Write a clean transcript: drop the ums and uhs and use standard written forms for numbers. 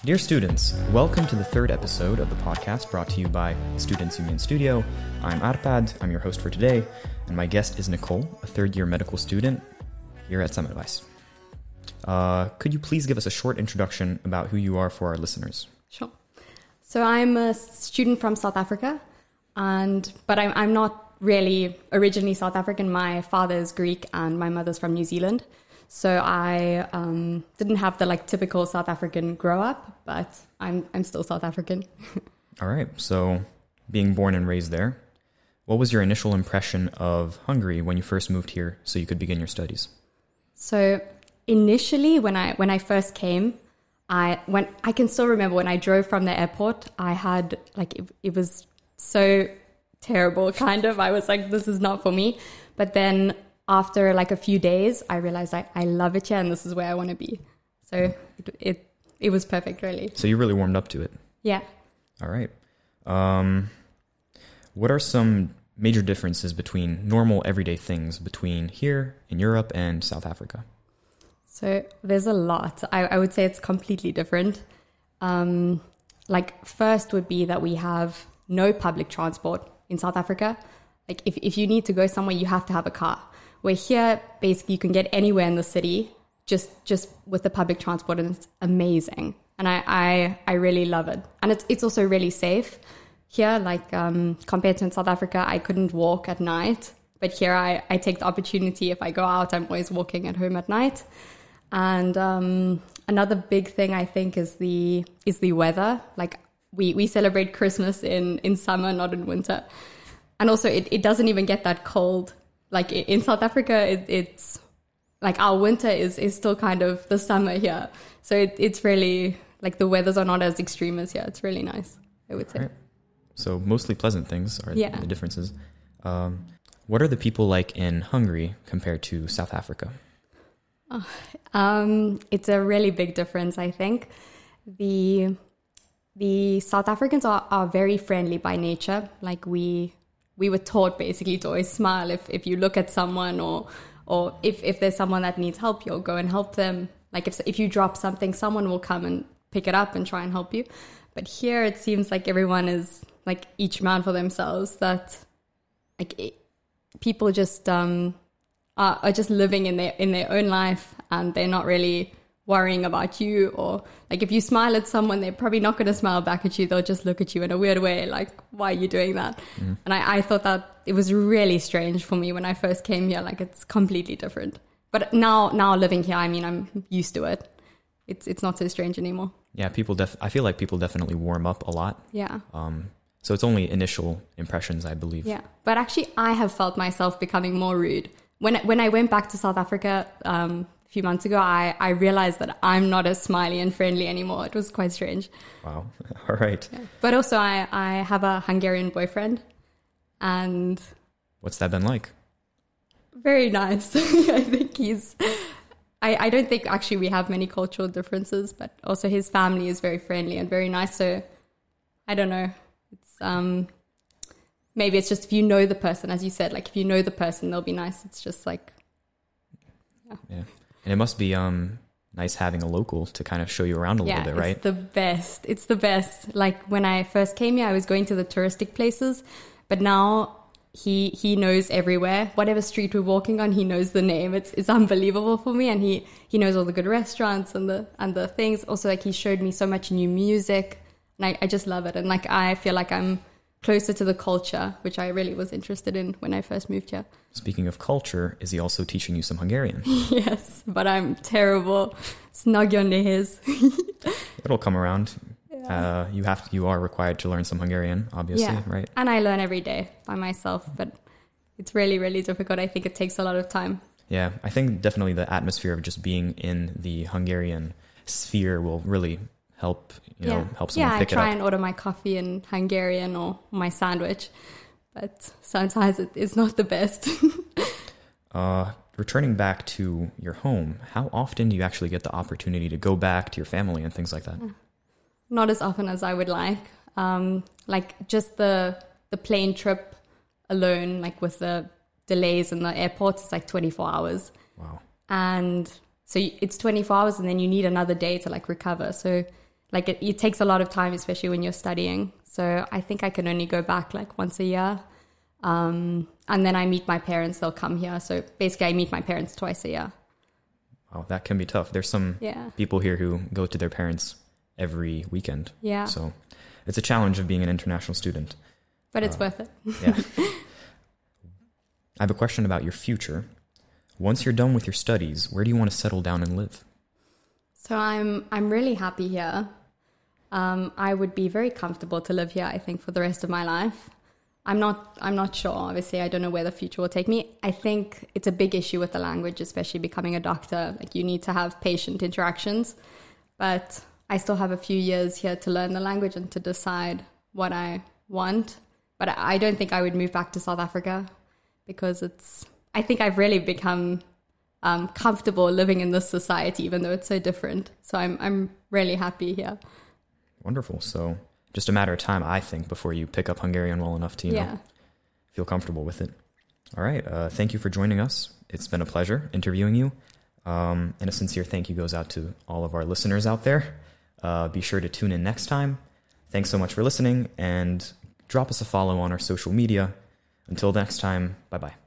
Dear students, welcome to the third episode of the podcast brought to you by Students Union Studio. I'm Arpad, I'm your host for today, and my guest is Nicole, a third-year medical student here at Semmelweis. Could you please give us a short introduction about who you are for our listeners? Sure. So I'm a student from South Africa, but I'm not really originally South African. My father is Greek and my mother's from New Zealand. So I didn't have the typical South African grow up, but I'm still South African. All right. So being born and raised there, what was your initial impression of Hungary when you first moved here so you could begin your studies? So initially, when I first came, I can still remember when I drove from the airport, I had it was so terrible, kind of. I was like, this is not for me. But then after a few days, I realized I love it here and this is where I want to be. So it was perfect, really. So you really warmed up to it. Yeah. All right. What are some major differences between normal everyday things between here in Europe and South Africa? So there's a lot. I would say it's completely different. First would be that we have no public transport in South Africa. If you need to go somewhere, you have to have a car. Where here, basically, you can get anywhere in the city just with the public transport, and it's amazing. And I really love it. And it's also really safe. Here, compared to in South Africa, I couldn't walk at night. But here, I take the opportunity. If I go out, I'm always walking at home at night. And another big thing, I think, is the weather. We celebrate Christmas in summer, not in winter. And also, it doesn't even get that cold. In South Africa, it's our winter is still kind of the summer here. So it's really, the weathers are not as extreme as here. It's really nice, I would say. Right. So mostly pleasant things are the differences. What are the people like in Hungary compared to South Africa? It's a really big difference, I think. The South Africans are very friendly by nature. We were taught basically to always smile if you look at someone or if there's someone that needs help, you'll go and help them. If you drop something, someone will come and pick it up and try and help you. But here it seems like everyone is each man for themselves, that people just are just living in their own life, and they're not really worrying about you. Or if you smile at someone, they're probably not going to smile back at you. They'll just look at you in a weird way, why are you doing that? Mm. And I thought that it was really strange for me when I first came here. It's completely different. But now living here, I'm used to it. It's not so strange anymore. Yeah, I feel like people definitely warm up a lot. Yeah. So it's only initial impressions, I believe. Yeah. But actually, I have felt myself becoming more rude. When I went back to South Africa a few months ago, I realized that I'm not as smiley and friendly anymore. It was quite strange. Wow. All right. Yeah. But also, I have a Hungarian boyfriend. And what's that been like? Very nice. I think I don't think actually we have many cultural differences, but also his family is very friendly and very nice. So I don't know. It's maybe it's just if you know the person, as you said, if you know the person, they'll be nice. It's just yeah. And it must be nice having a local to kind of show you around a little bit, right? It's the best. It's the best. When I first came here, I was going to the touristic places, but now he knows everywhere. Whatever street we're walking on, he knows the name. It's unbelievable for me, and he knows all the good restaurants and the things. Also, he showed me so much new music, and I just love it. And I feel like I'm closer to the culture, which I really was interested in when I first moved here. Speaking of culture, is he also teaching you some Hungarian? Yes, but I'm terrible. Nagyon nehéz. It'll come around. Yeah. You are required to learn some Hungarian, obviously, right? And I learn every day by myself, but it's really, really difficult. I think it takes a lot of time. Yeah, I think definitely the atmosphere of just being in the Hungarian sphere will really help help someone pick it up. I try and order my coffee in Hungarian or my sandwich, but sometimes it's not the best. Returning back to your home, how often do you actually get the opportunity to go back to your family and things like that? Not as often as I would like. Just the plane trip alone, with the delays in the airport, it's 24 hours. Wow. And so it's 24 hours and then you need another day to recover. So like it takes a lot of time, especially when you're studying. So I think I can only go back like once a year. And then I meet my parents, they'll come here. So basically I meet my parents twice a year. Wow, that can be tough. There's some people here who go to their parents every weekend. Yeah. So it's a challenge of being an international student. But it's worth it. Yeah. I have a question about your future. Once you're done with your studies, where do you want to settle down and live? So I'm really happy here. I would be very comfortable to live here, I think, for the rest of my life. I'm not sure. Obviously, I don't know where the future will take me. I think it's a big issue with the language, especially becoming a doctor. Like, you need to have patient interactions. But I still have a few years here to learn the language and to decide what I want. But I don't think I would move back to South Africa because I think I've really become comfortable living in this society, even though it's so different. So I'm really happy here. Wonderful. So just a matter of time, I think, before you pick up Hungarian well enough to feel comfortable with it. All right. Thank you for joining us. It's been a pleasure interviewing you. And a sincere thank you goes out to all of our listeners out there. Be sure to tune in next time. Thanks so much for listening, and drop us a follow on our social media. Until next time, bye-bye.